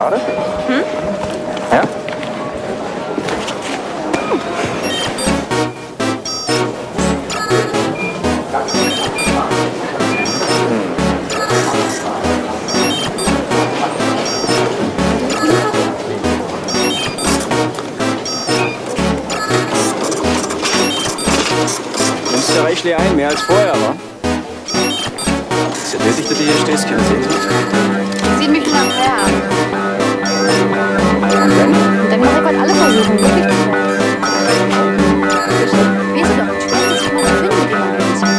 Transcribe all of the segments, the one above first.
Schade? Ja? Nimmst du reichlich ein, mehr als vorher, wa? Ist ja nötig, dass du hier stehst, keine Sehnsucht. Sieht mich schon am Fern. Und dann? Und dann mache ich gerade alle Versuche, wirklich zu sein. Weißt du doch, wie schwer es ist, immer zu finden, mit dem man ist.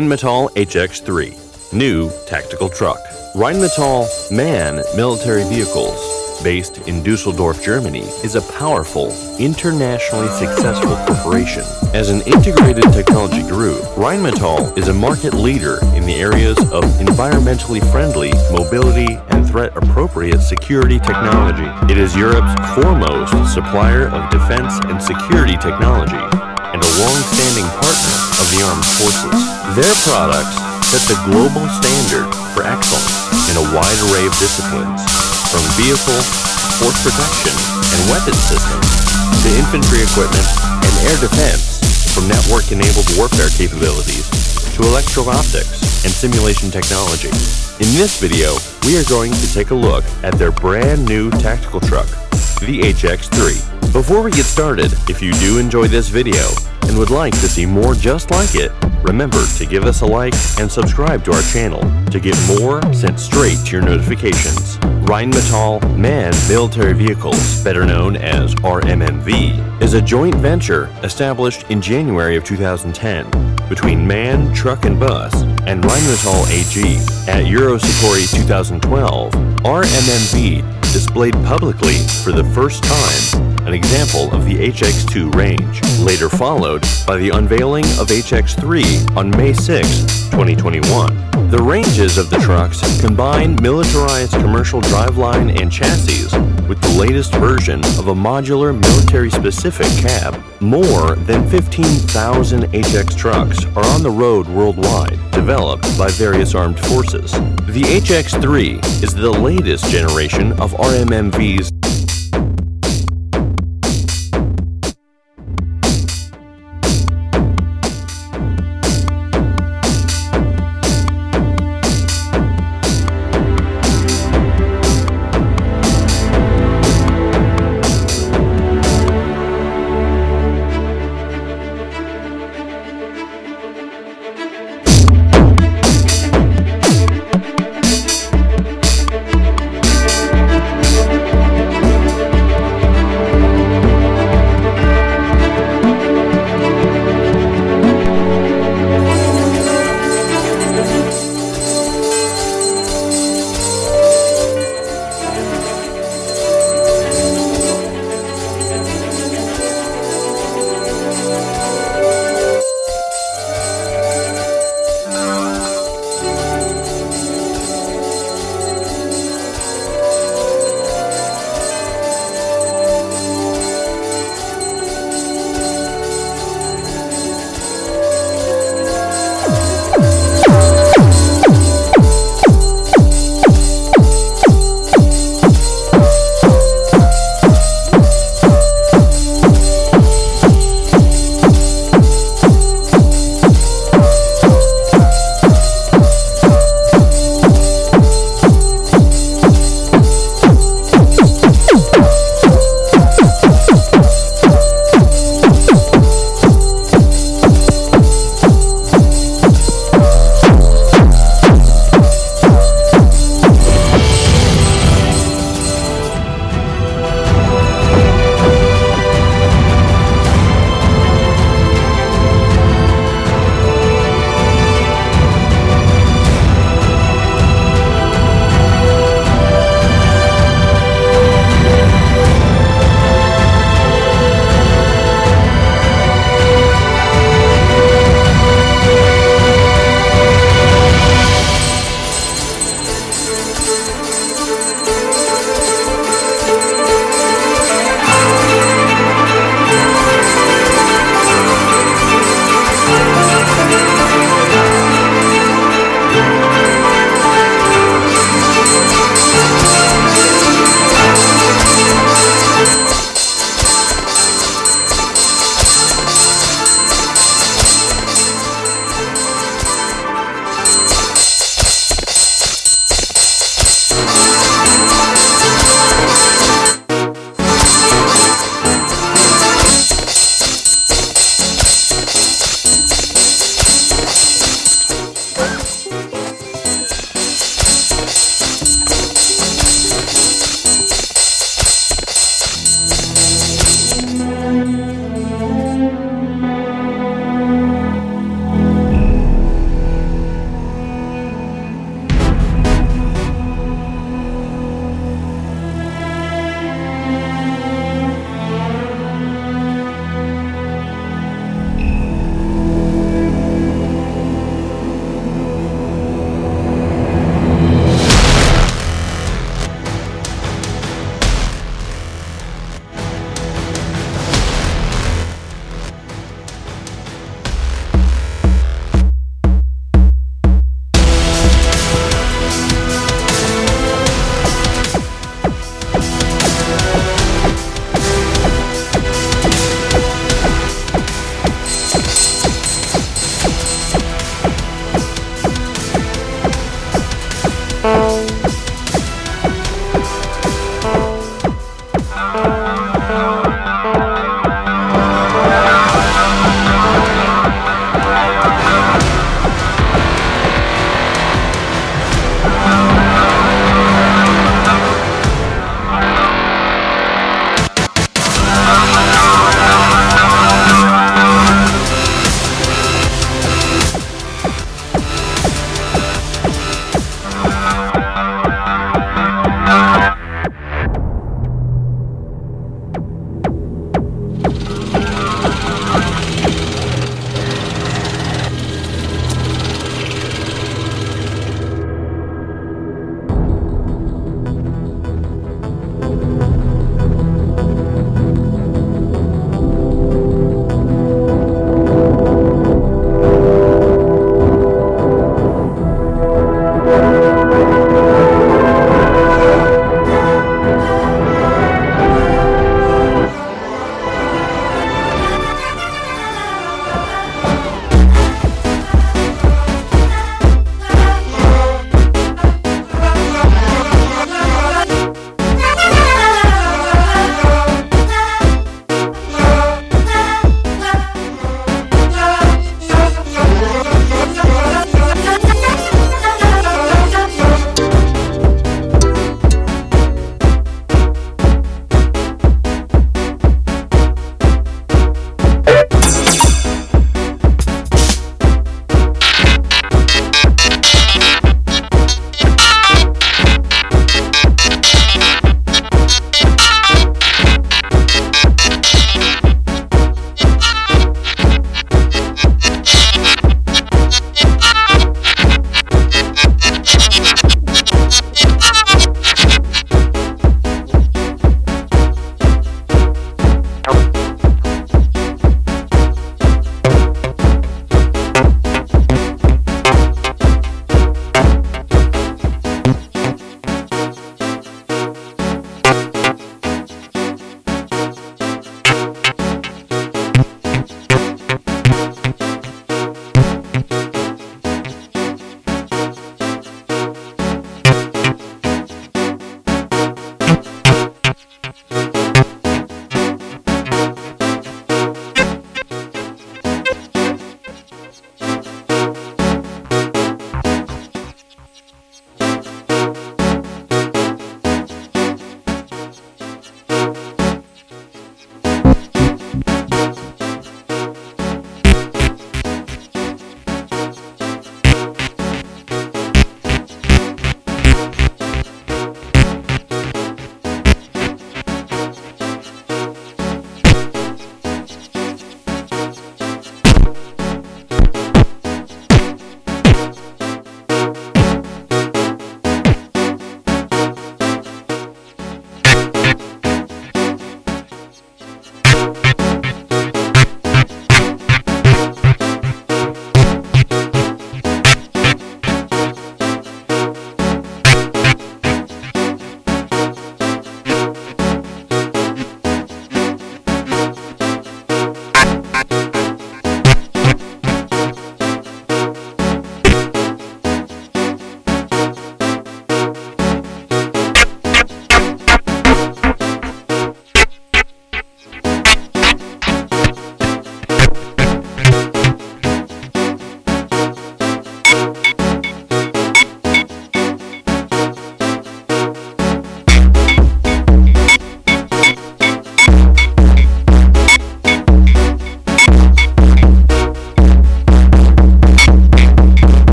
Rheinmetall HX3, new tactical truck. Rheinmetall MAN Military Vehicles, based in Dusseldorf, Germany, is a powerful, internationally successful corporation. As an integrated technology group, Rheinmetall is a market leader in the areas of environmentally friendly, mobility, and threat-appropriate security technology. It is Europe's foremost supplier of defense and security technology, and a long-standing partner of the armed forces. Their products set the global standard for excellence in a wide array of disciplines, from vehicle, force protection, and weapon systems, to infantry equipment and air defense, from network-enabled warfare capabilities to electro-optics and simulation technology. In this video, we are going to take a look at their brand new tactical truck, the HX3. Before we get started, if you do enjoy this video and would like to see more just like it, remember to give us a like and subscribe to our channel to get more sent straight to your notifications. Rheinmetall MAN Military Vehicles, better known as RMMV, is a joint venture established in January of 2010 between MAN Truck and Bus and Rheinmetall AG. At Eurosatory 2012, RMMV displayed publicly for the first time an example of the HX2 range, later followed by the unveiling of HX3 on May 6, 2021. The ranges of the trucks combine militarized commercial driveline and chassis with the latest version of a modular military-specific cab. More than 15,000 HX trucks are on the road worldwide, developed by various armed forces. The HX3 is the latest generation of RMMV's